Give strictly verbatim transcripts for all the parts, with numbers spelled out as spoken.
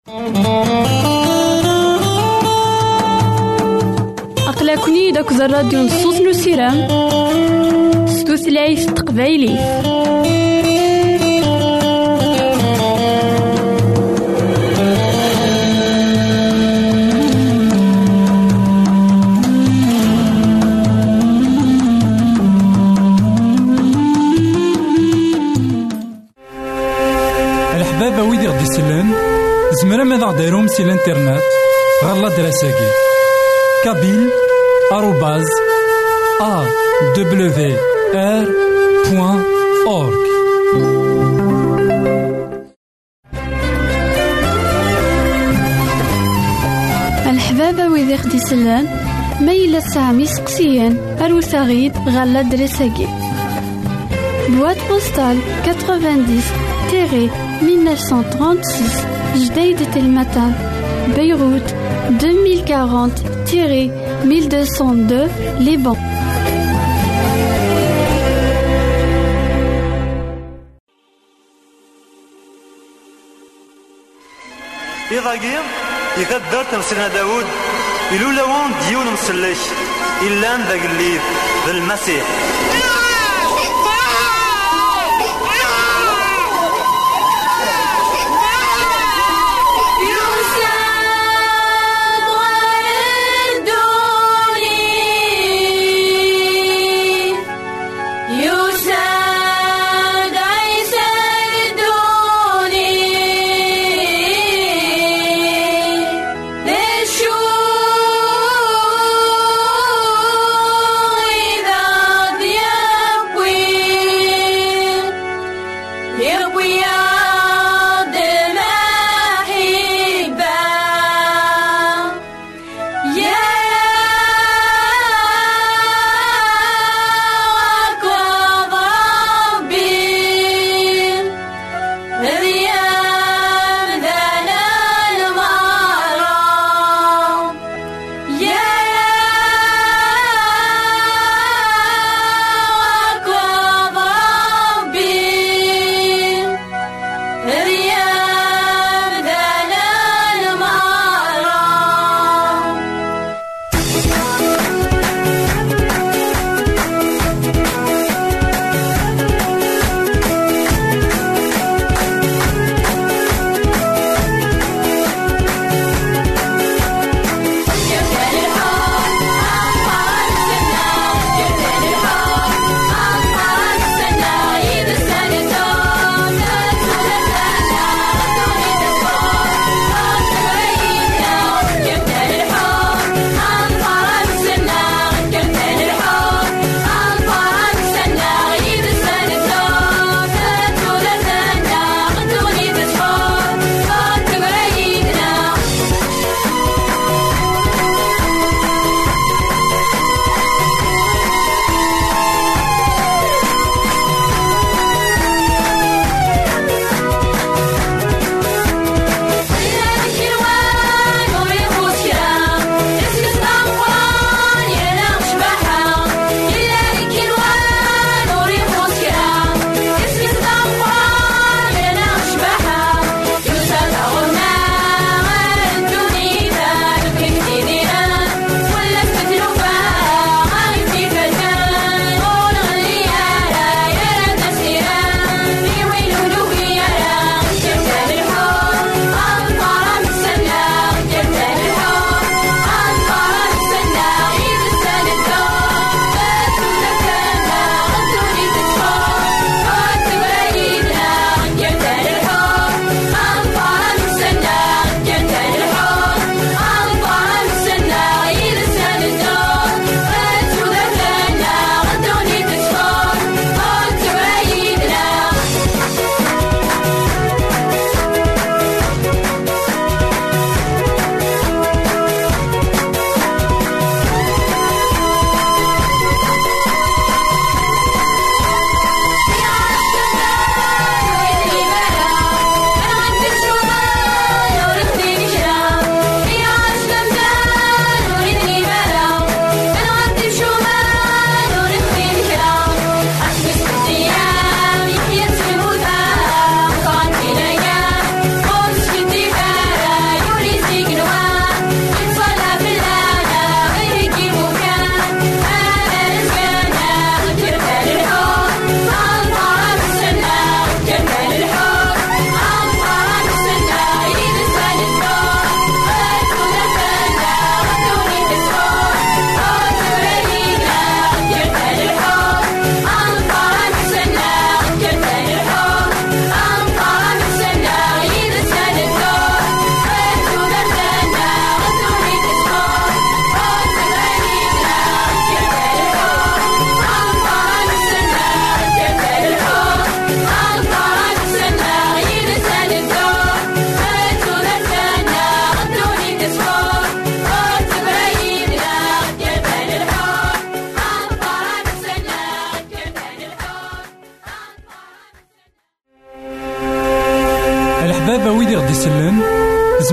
أقلكني داك الراديو نصوص نسيران ستوثلايف تقبايلي. الحبابة ويدي غدي يسلن زمرا ماذا غديرهم سي الانترنت غالا دراساكي كابيل آروباز أ دبليو آر بوان أورك. الحبابة ويدي غدي يسلن ميلا سامي سقسيان أروساغيد غالا دراساكي boîte postale quatre-vingt-dix mille neuf cent trente-six Jdeï de Telmatan, Beyrouth deux mille quarante mille deux cent deux Liban. إضاقي يقدر تمسلنا داود إلولا وان ديون مسلش إلا ذاك الليل بالمسيح. The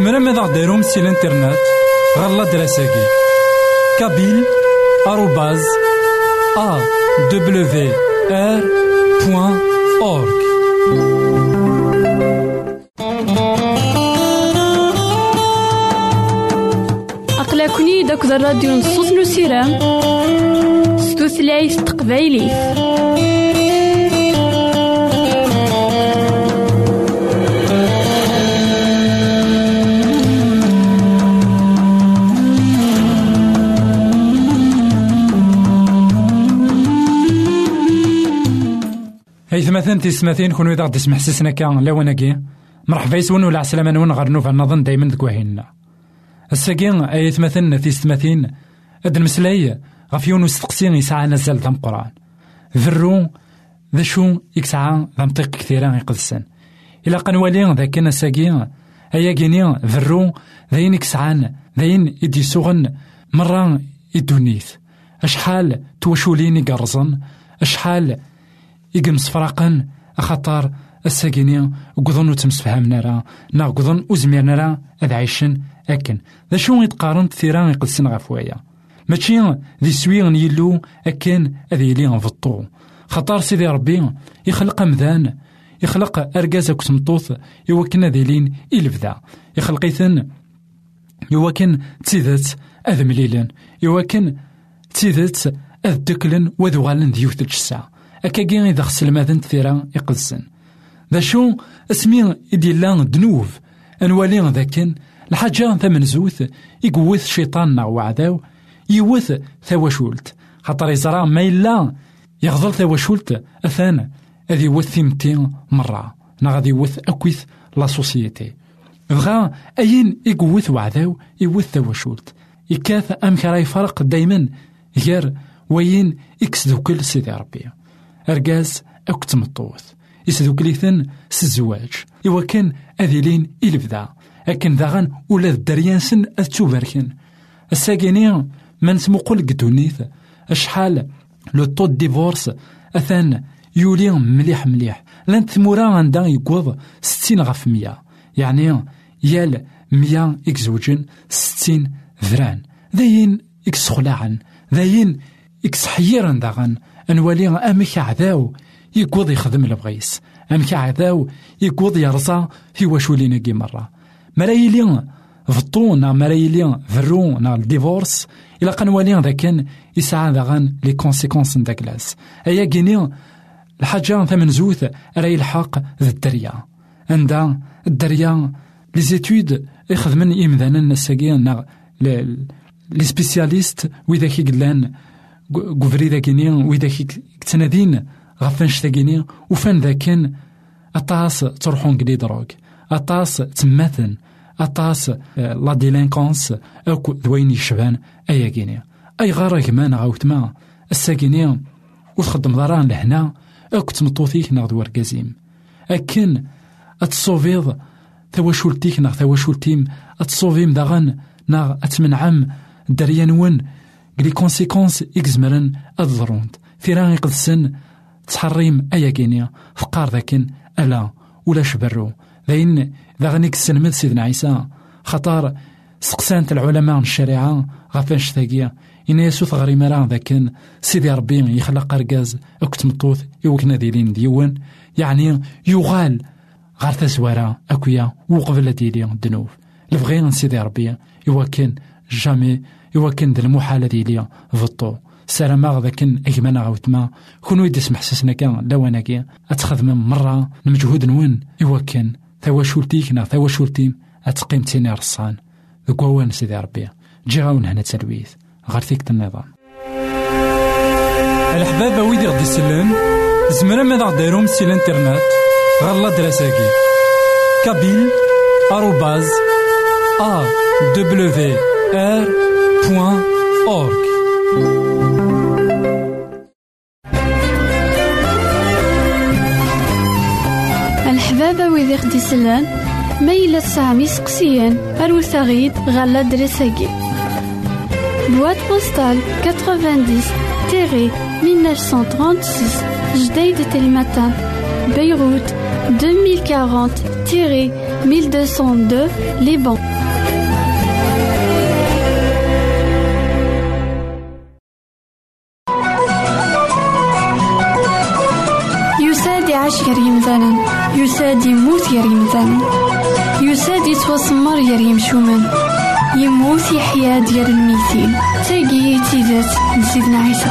زمرا ماذا غديرهم سي الانترنت غالا دراساكي كابيل آروباز أ دبليو آر بوان أورك. أقلكني داك الراديو نصوص نسيرام ستوثلايف تقبايلي. مثلا تسمثين كون إذا غدي تسمح سسنا كان لوناكي مرحبا يسون ولا عسلامة نون غير نوفا نظن دايما دكواهينا الساكين أيث مثلا تسمثين هاد المسلاي غف يونس تقسين يسعى نزل ذم قرآن ذرو ذا شو يكسعى ذم طيق كثيرا يقدسن إلا قنوالين ذا كان الساكين أيا جيني ذرو ذاين يكسعان ذاين يدي سوغن مرة يدونيث أشحال توشولين يقرزن أشحال يقم صفراقا أخطار الساقيني وقضن وتمسفهمنا راه نا قضن وزميرنا راه أذ عايشن أكن ذا شو يتقارن ثيران يقدسن غفوايا ماشي ذي سويغن يلو أكن أذ يلي فطو خطار سيدي ربي يخلق مذان يخلق أرقاز كسمطوث يوكن ذي لين إلفذا يخلقيثن يوكن تيذت أذ مليلن يوكن تيذت أذ دكلن وذوالن ديوث الجسا أكاكين إذا خسل ماذن ثيرا يقدسن ذا شو اسمي إديلان دنوف أنوالين ذاكن الحاجة ثمن زوث يقوث شيطاننا وعداو يوث ثواشولت خاطر يزرع ما إلا يغضل ثواشولت أثان أذي يوث ثيمتين مرة نغادي يوث أكويث لا سوسيتي بغا أين يقوث وعداو يوث ثواشولت يكاث أمك راي فرق دايما غير وين يكسدو كل سيدي ربي أرقاز أو كتمطوث يسدو كليثن سزواج إوا كان أذيلين إلفدا أكن ذاغن ولا الدريانسن أتوبركن الساقيني من سموقل قدونيث أشحال لو طو ديفورس أثان يولي مليح مليح لان ثمورا عندها يقوض ستين غف مية يعني يال مية إكزوجن ستين ذران ذاين إكس خلاعا ذاين إكس حيرا ذاغن أنوالي أمك عذاو يقوض يخدم البغيس أمك عذاو يقوض يرزا في وشولينا كي مرة مرايلين فطونا مرايلين ذرونا الديفورس إلا قنوالين ذا كان يسعى ذاغن لي كونسيكونس نداكلاس أيا كيني الحاجة ثمن زوث راي الحق ذا الدريا عندها الدريا لي زيتود يخدمن إمذانا الساقين لي سبيسياليست وإذا كي قلان قفري ذاكيني وإذا كتنادين غفنش ذاكيني وفان ذاكن أطاس تروحون قلي دروك أطاس تماثن أطاس لا ديلينكونس أو ذوين يشبان أيا كيني أي غارة كمان غاوت ما الساكيني وتخدم ضران لهنا أو كتمطوثيك ناغ دوار كازيم أكن أتصوفيض ثواشولتيك ناغ ثواشولتيم أتصوفيم داغن ناغ أتمنعم دريانون لي كونسيكونس إكزمرن أضروند ثيران يقدسن تحريم أيا كينيا فقار ذاكن ألا ولا شبرو ذاين ذاغنيك السلمد سيدنا عيسى خطار سقسانت العلماء الشريعة غفاش ثاقية إن يسوث غري مران ذاكن سيدي ربي يخلق أرقاز أكت مطوث يوكنا ديلين ديون يعني يغال غار تزوارا أكويا وقبل ديلين الدنوف الفغين سيدي ربي يوكن جامي يوكن ذا المحالة ديالي فطو سلام ذاكن أجمانا غوتما كونو يدس محسسنا كان لواناكي أتخذ من مرة المجهود نون يوكن ثواشولتيك نا ثواشولتيم أتقيم تيني رصان ذكوان سيدي ربي جيغاون هنا تلويث غير ثيك النظام الحبابة ويدي غدي سلان زمرا ماذا غديرهم سي الانترنت غالا دراساكي كابيل آروباز أ دبليو آر بوان أورك. الحبابة ويدي غدي سلان ميلا سامي سقسيان أروث غيد غالا دراساكي boîte postale quatre-vingt-dix mille neuf cent trente-six Jdeï de Télématin Beyrouth deux mille quarante mille deux cent deux Liban. يساد يعيش يريم زانن، يساد يموت يريم زانن، يساد يتوسمر يريم شومن، يموت يحيا ديال الميتين. تاقي تيزات لسيدنا عيسى.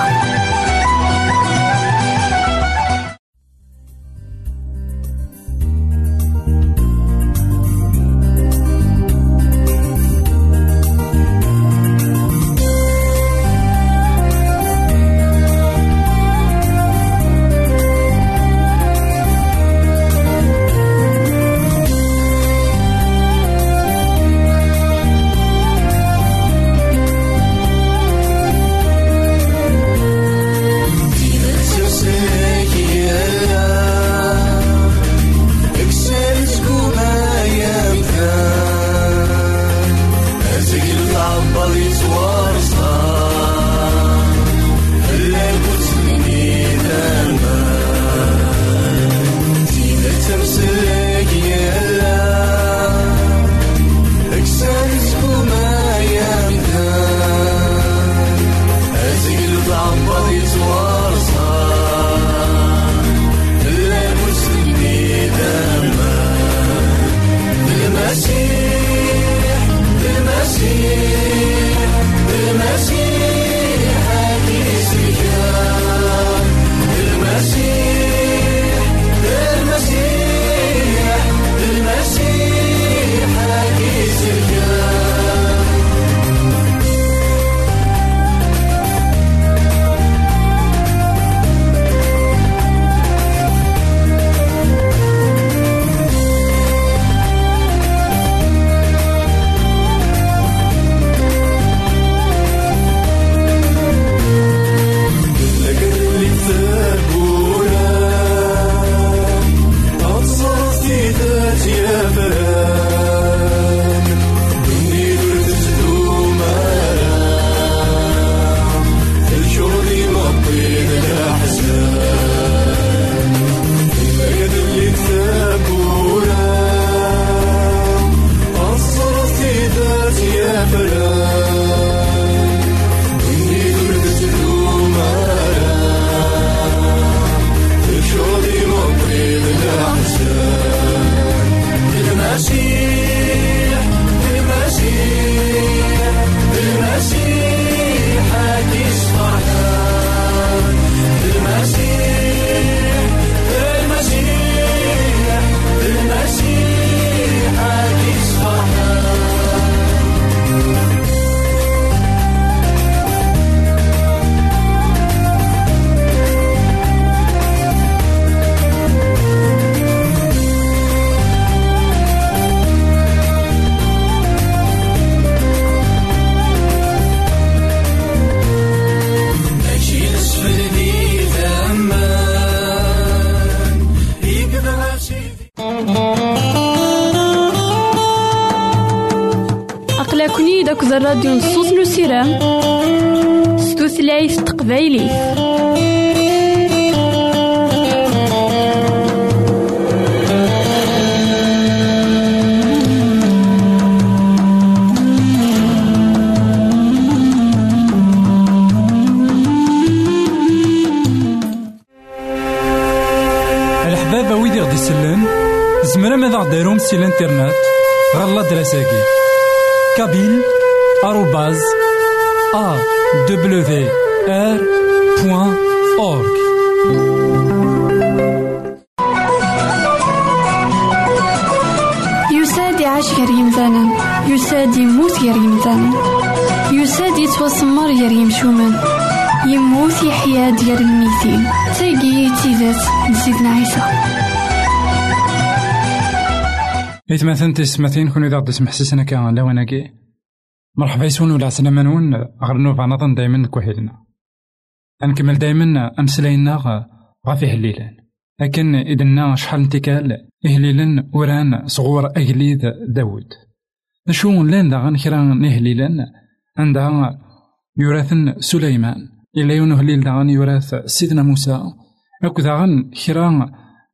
أقلكني داك الراديو نصوص نسيرام ستوثلايف تقبايلي. الحبابة ويدي غدي يسلم زمرا ماذا غديرهم سي الانترنت غالا دراساكي كابيل آروباز أ دبليو آر بوان أورك. يساد يعيش يريم زانن، يساد يموت يريم زانن، يساد يتوسمر يريم شومن، يموت يحيا ديال الميتين. تاقي تيزات لسيدنا عيسى. إتماثن تسمثين كونو إذا قدس محسسنا كان لوناكي مرحبا يسون ولا عسلامة نون غرنو فعنطن دايما كوحيلنا أنكمل دايما أمسلاينا غافي هليلان لكن إذنا شحال انتكال إهليلان وران صغور أهليد داود نشون لان دا غنكرا نهليلان عندها يراثن سليمان إلا يونو هليل دا غن يراث سيدنا موسى أكو دا غن كرا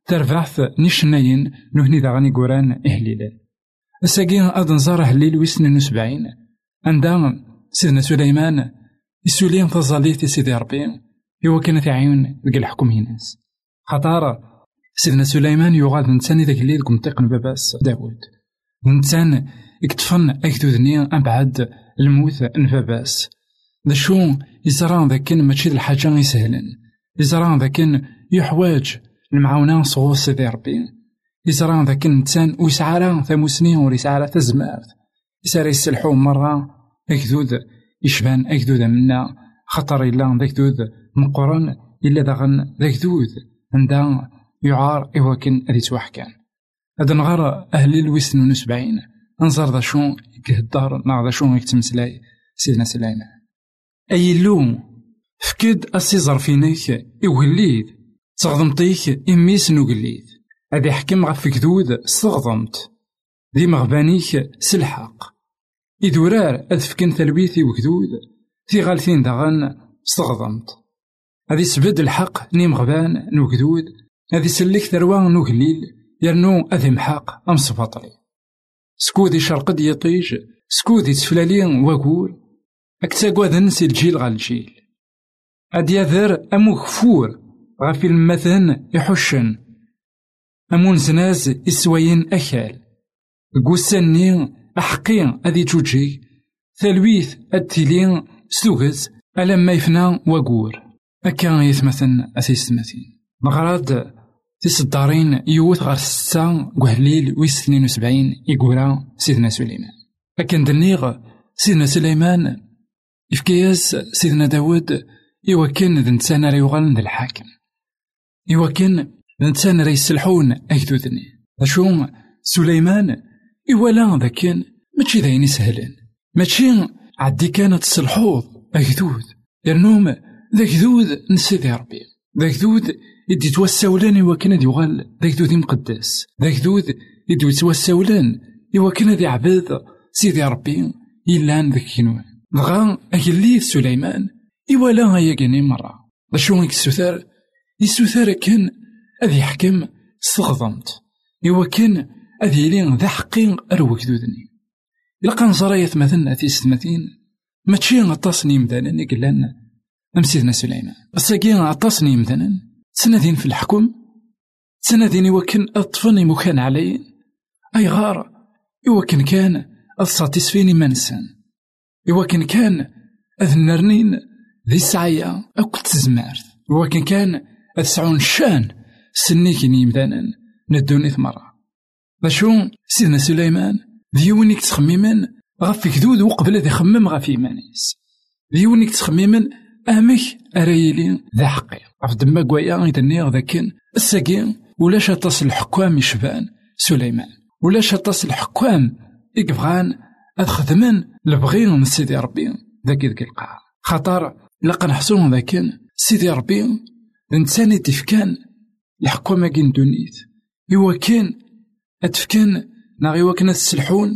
ترفعث نشناين نهني ذا غني قران إهليلان الساقين أدن زاره الليل ويسنين وسبعين عندما سيدنا سليمان يسولين تظليت سيدي ربي هو كانت عيون ذاك الحكم هناس خطارة سيدنا سليمان يغاد نتساني ذاك الليل كمطيق باباس داود نتسان اكتفن أكدودني أبعد الموت نفاباس ذا شو يزران ذاكن ماشي الحاجة يسهلن يزران ذاكن يحواج المعاونة صغور سيدي ربي يزران ذاكن نتسان ويسعى ثموسنين ويسعى تزمارت يساري يسلحو مرة أكدود يشبان أكدود منا خطر إلا ذاك دود مقرن إلا داغن ذاك دود عندها يعار إواكن أدي توحكان هذا نغار أهل الوسن ونسبعين أنظر ذا شون يكهدار نا ذا شون يكتمسلاي سيدنا سليمان أي اللوم فكد أسيزر فينيك إوليد تغضمتيك إميس نوغليد هذا حكم غف كدود استغضمت ذي مغبانيك سلحق إدورار أذفكن ثلبيثي وكدود في غالثين داغن استغضمت هذه سبد الحق نيم غبان نوكدود هذه سلك ثروان نوكليل يرنو أذي محاق أم صفاطلي سكودي شرقد يطيج سكودي تفلالين وقور أكتاقوا ذنسي الجيل غال الجيل أدي يذر أمو غفور غافي المثن يحشن أمون زناز إسوين أخال قوساني أحقين أذي جوجي ثلويث التلين سوغز ألما يفنى وقور أكا يثمثن أثيستمثين مغراد تيصدارين يوث غار ستة قهليل ويستنين وسبعين يقورا سيدنا سليمان أكا دنيغ سيدنا سليمان إفكياس سيدنا داود إيوكن ذنتسان ريوغان ذا الحاكم إيوكن ذنتسان ريسلحون أكدودني أشو سليمان إيوالا ذاكن ماشي ذاين سهلين ماشي عدي كانت الصلحوظ أكدود يرنوم ذاك ذود نسيدي ربي ذاك ذود يدي توساولان إيواكن ذي يغال ذاك ذود مقدس ذاك ذود يدي توساولان إيواكن ذي عباد سيدي ربي إلان ذاك كنوان دغا أكليث سليمان إيوالا هيا كاني مرة باشو يكسوثار يسوثار كان أذي يحكم استغضمت إيواكن أذي لين ذا حقين أروك ذودني إلا كان صرايث مثلنا في ستمثين ماشي غطاسني مثلا يقلان أم سيدنا سليمان الساقين غطاسني مثلا سنذين في الحكم سنذين إيواكن أطفني مكان علي أي غار إيواكن كان أصاتيسفيني منسان إيواكن كان أذنرنين ذي السعية أو كنت زمارت إيواكن كان أتسعون شان سنيكني مثلا ندوني ثمرة باشو سيدنا سليمان ذيونيك تخميمن غفي كدود وقبل ذي خمم غفي مانيس ذيونيك تخميمن أمك أرايلين ذا حقي عف دما قويا يدنيغ ذاكن الساقين ولاش أتصل الحكام يشبان سليمان ولاش أتصل الحكام يقفغان أخذمن لبغين من سيدي ربي ذاك ذاك القاع خطر لقى نحسون ذاكن سيدي ربي إنسان تفكان الحكومة كين دونيت إوا كان أتفكان ناغي وكنا تسلحون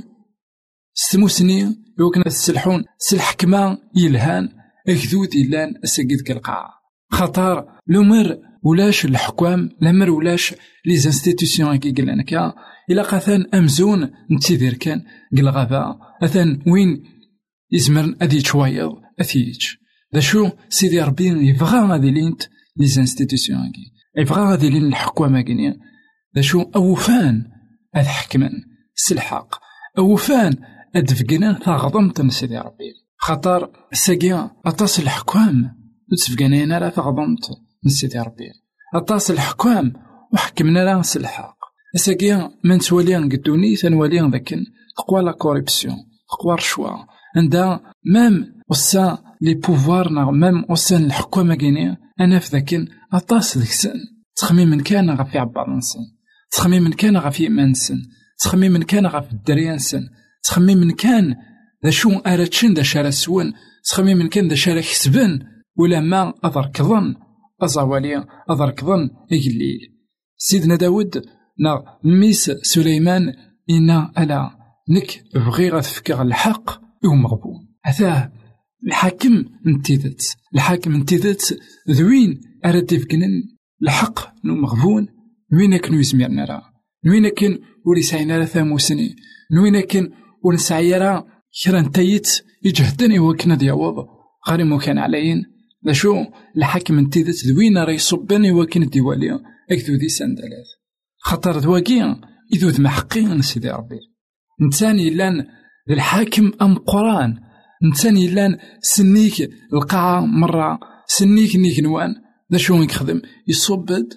ستموسني إوا كنا تسلحون سلحكمة يلهان أكذود إلان أساقيد كالقاع خطر لمر ولاش الحكام لمر ولاش لي زانستيتيسيون كي قلنا كا إلا قاثان أمزون نتيذير كان قل غابا أثان وين يزمرن أذي تشوايض أثيج ذا شو سيدي ربي يبغى غادي لينت لي زانستيتيسيون كي يبغى غادي لين الحكومة كينيا ذا شو أوفان أذ حكمن سلحق أوفان أدفقنا ثغضمت سيدي ربي خطر الساقيا أطاس الحكام تسفقنا لا ثغضمت سيدي ربي أطاس الحكام وحكمنا لا سلحق الساقيا من توليان قدوني ثنوليان ذاكن تقوى لا كوريبسيون تقوى الرشوة عندها مام وسا لي بوفوار مام وسا الحكومة كينيا أنا في ذاكن أطاس ذيك سن تخمي من كان غفي عباد نسن تخمي من كان غفي إيمان سن تخمي من كان غفي الدريان سن تخمي من كان ذا شو أراتشن ذا شارع سوان تخمي من كان ذا شارع حسبن ولا ما أضر كظن أزاواليا أضر كظن إجليل سيدنا داود نا ميس سليمان إنا ألا نك بغي غتفكر الحق ومغبون هذا الحاكم انتذت الحاكم انتذت ذوين أراد يفكنن الحق نو مغبون نوين كن يزميرنا راه نوين كن ولي سعينا راه ثاموسني نوين كن ونسعي راه كرا نتايت يجهدني وكنا دياوض غير مو كان عليين لا شو الحاكم انتيدت دوينا راه يصبني وكن الديوالي اكدو دي سندلات خاطر دواكي يذوذ محقين سيدي ربي نتاني لان الحاكم ام قران نتاني لان سنيك القاعه مره سنيك نيك نوان لا شو يخدم يصبد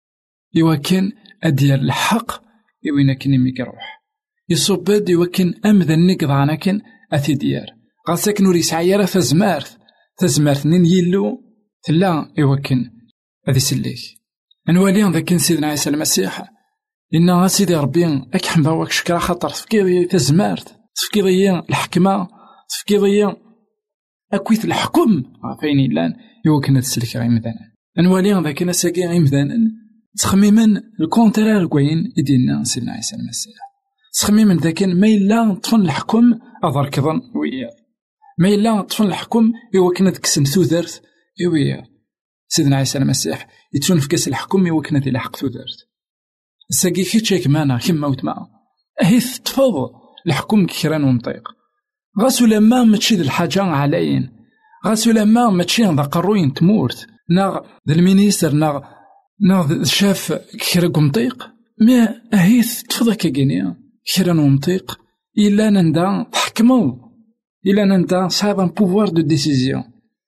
يوكن ادير الحق يوين كني ميكروح يصبد يوكن امذن نقضانا كن اثي ديار غاسك نوري سعيره فزمارث فزمارث نين يلو تلا يوكن هذه سليك انوالي ذاك سيدنا عيسى المسيح إن سيدي ربي أكحم باوك شكرا خاطر تفكيضي تزمارت تفكيضي الحكمة تفكيضي أكويت الحكم فين إلان يوكنا تسلك غير مذانا أنوالي ذاك نساقي غير مذانا تخميما الكونترار كوين يدينا سيدنا عيسى المسيح تخميما ذاك ما إلا طفن الحكم أضر كظن ويا ما إلا طفن الحكم يوكنا تكسن ثوذرت ويا سيدنا عيسى المسيح يتون في كاس الحكم يوكنا ذي الحق ثوذرت ساقي كيتشاك معنا كيما وتما هيث تفضل الحكم كيران ومطيق غاسو لما متشي الحاجة عليين غاسو لما متشي ذا قروين تمورت ناغ ذا المينيستر ناغ ناغ شاف كيران ومطيق ما هيث تفضل كاكينيا كيران ومطيق إلا نندا تحكمو إلا نندا صعب ان بوفوار دو ديسيزيون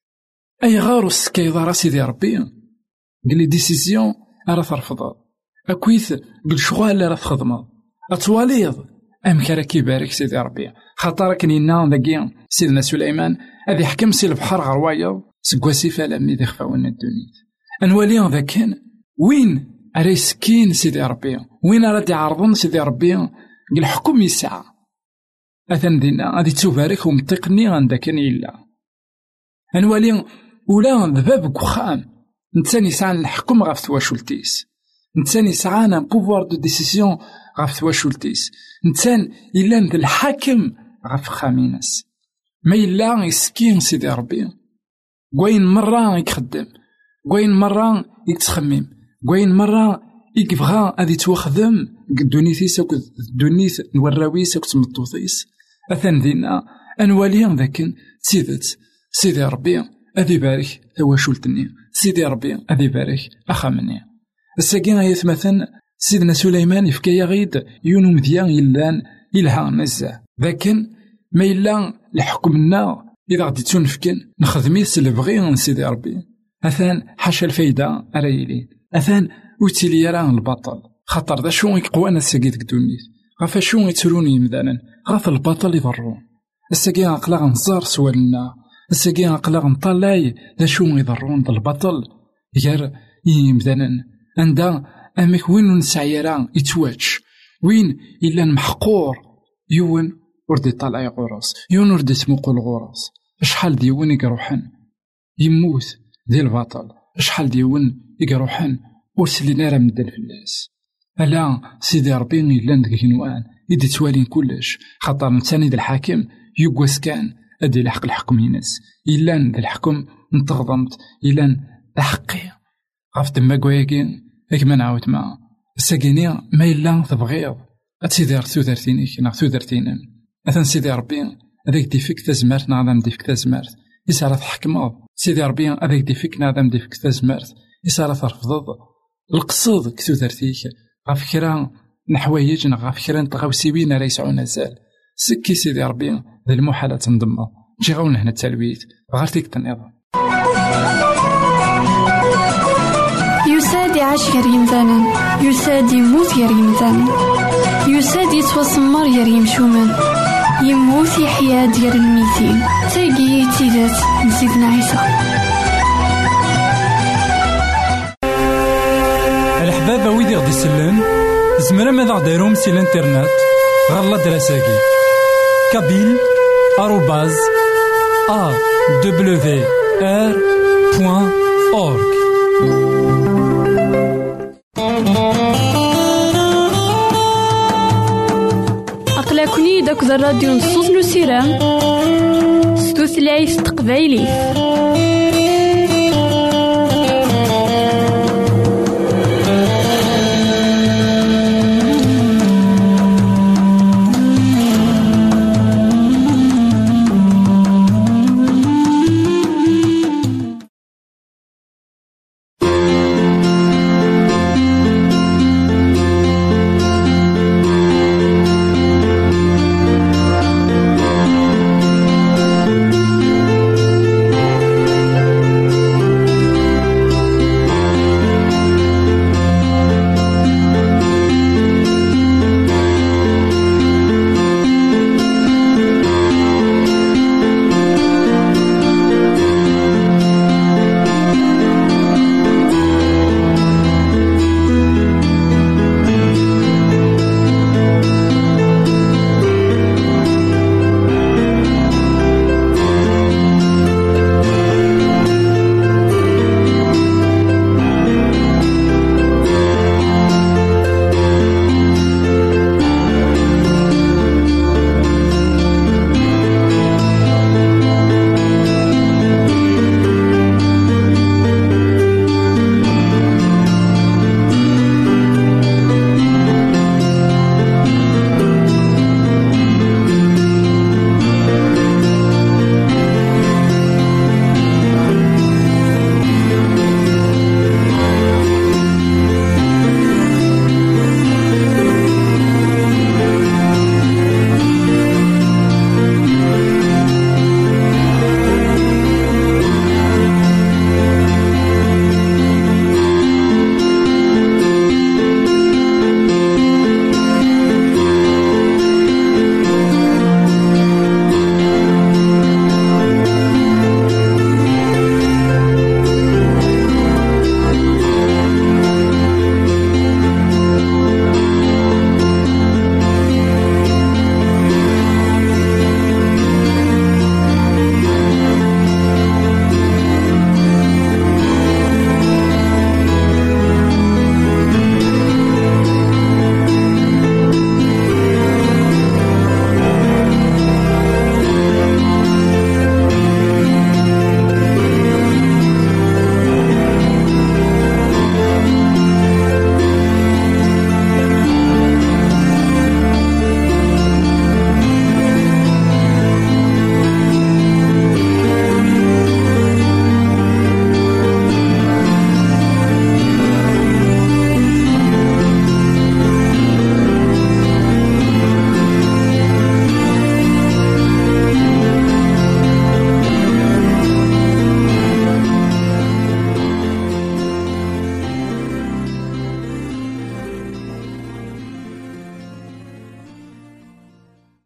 أي غارو السكايضة راسي دي ربي قلي ديسيزيون أرى ترفضها أكويث بالشغل اللي راه تخدمه أتواليض أم كراكي بارك سيدي ربي خاطرك نينا ذاكي سيدنا سليمان هذي حكم سي البحر غروايض سكواسي فالمي ذي خفاونا الدنيا أنوالي ذا كان وين أري سكين سيدي ربي وين راه يعرضون سيدي ربي قال الحكم يسعى أثن دينا غادي تبارك ومطيقني عندك إلا أنوالي ولا ذبابك وخام نتاني سعى الحكم غاف تواشلتيس نتاني سعانا بوفوار دو ديسيسيون غاف تواشلتيس نتان إلا ند الحاكم غاف خامينس ما إلا يسكين سيدي ربي قوين مرة يخدم قوين مرة يتخمم قوين مرة يكفغا غادي توخدم دونيثيس أو دونيث نوراويس أو تمطوطيس أثن دينا أنواليا ذاكن سيدت سيدي ربي أذي بارك تواشلتني سيدي ربي أذي بارك أخامني الساقين يتمثل سيدنا سليمان يفكي غيد يونو مذيان يلان يلها نزا لكن ما إلا لحكمنا إذا غدي تنفكن نخدميس البغي سيدي ربي أثان حاشا الفايدة أرايلي أثان وتيلي يران البطل خاطر ذا شو يقوانا الساقيت كدونيت غافا شو يتروني مذانا غاف البطل يضرون الساقين أقلاغ نزار سوالنا الساقين أقلاغ نطلاي ذا شو يضرون ذا البطل غير يمذانا عندها أمك وين نسعيرا يتواج وين إلا محقور يون وردي طالع غراس يون وردي تموقو الغراس شحال ديون يقروحن يموت ذي البطل شحال ديون يقروحن وسلينا راه مدن في الناس ألا سيدي ربي إلا ندك نوان يدي توالين كلش خاطر نتاني ذا الحاكم يقواس كان أدي لحق الحكم ينس إلا ذا الحكم نتغضمت إلا حقي غاف دما كواكين إكما نعاود معا الساقيني ما إلا تبغيض أتسيدي رتو دارتينيك ناغ تو دارتينن أثن سيدي ربي هذاك ديفيك تازمارت نعظم ديفك تازمارت يسارة تحكمض سيدي ربي هذاك ديفيك نعظم ديفك تازمارت يسارة ترفضض القصد كتو دارتيك غاف كرا نحوايج ناغ غاف كرا نتغاوسيوين راه يسعونا زال سكي سيدي ربي ذا المحالة تنضمى جي غاونا هنا التلويت غير تيك تنظم يساد يعيش غير يمثالا يساد يموت غير يمثالا يساد يتوسمر غير يمشومان يموت يحيا ديال الميتين تاقي تيدات نسيدنا عيسى. الحبابة ويدي غدي سلان زمرا ماذا غديرهم سي الانترنت غالا دراساكي كابيل آروباز أ دبليو آر بوان أورك. أقلكني داك الراديو نصوص نسيران ستوثلايف تقبايلي.